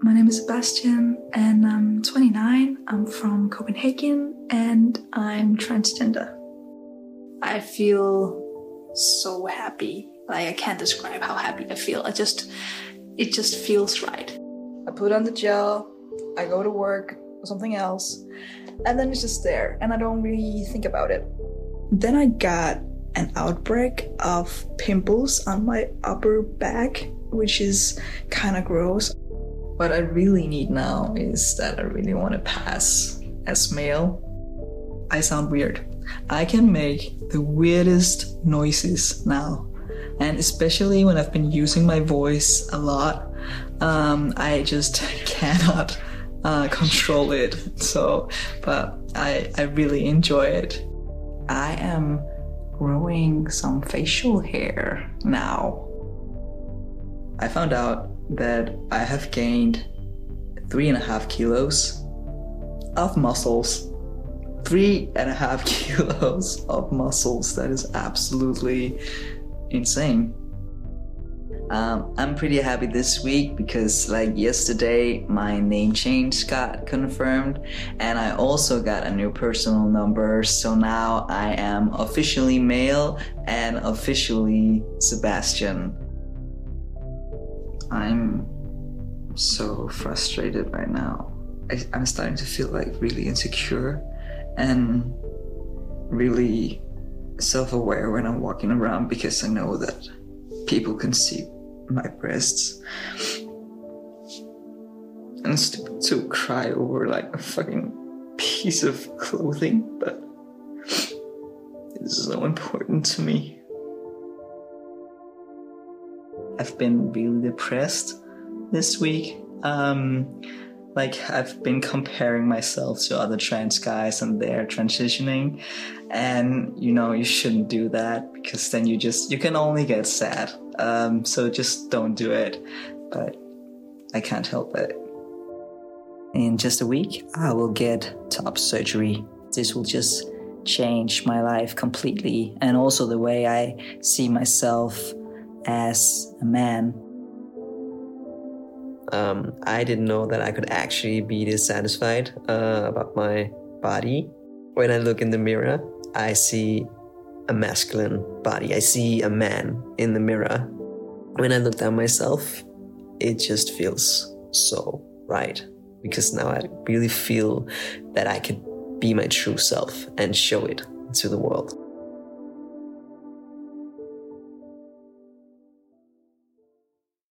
My name is Sebastian and I'm 29. I'm from Copenhagen and I'm transgender. I feel so happy. Like, I can't describe how happy I feel. It just feels right. I put on the gel, I go to work or something else, and then it's just there and I don't really think about it. Then I got an outbreak of pimples on my upper back, which is kind of gross. What I really need now is that I really want to pass as male. I sound weird. I can make the weirdest noises now. And especially when I've been using my voice a lot, I just cannot control it. But I really enjoy it. I am growing some facial hair now. I found out that I have gained 3.5 kilos of muscles. 3.5 kilos of muscles. That is absolutely insane. I'm pretty happy this week because yesterday my name change got confirmed and I also got a new personal number. So now I am officially male and officially Sebastian. I'm so frustrated right now. I'm starting to feel really insecure and really self-aware when I'm walking around because I know that people can see my breasts. And it's stupid to cry over a fucking piece of clothing, but it's so important to me. I've been really depressed this week. I've been comparing myself to other trans guys and they're transitioning, and you shouldn't do that because then you can only get sad. So just don't do it. But I can't help it. In just a week, I will get top surgery. This will just change my life completely, and also the way I see myself as a man. I didn't know that I could actually be dissatisfied about my body. When I look in the mirror, I see a masculine body. I see a man in the mirror. When I look down myself, it just feels so right. Because now I really feel that I could be my true self and show it to the world.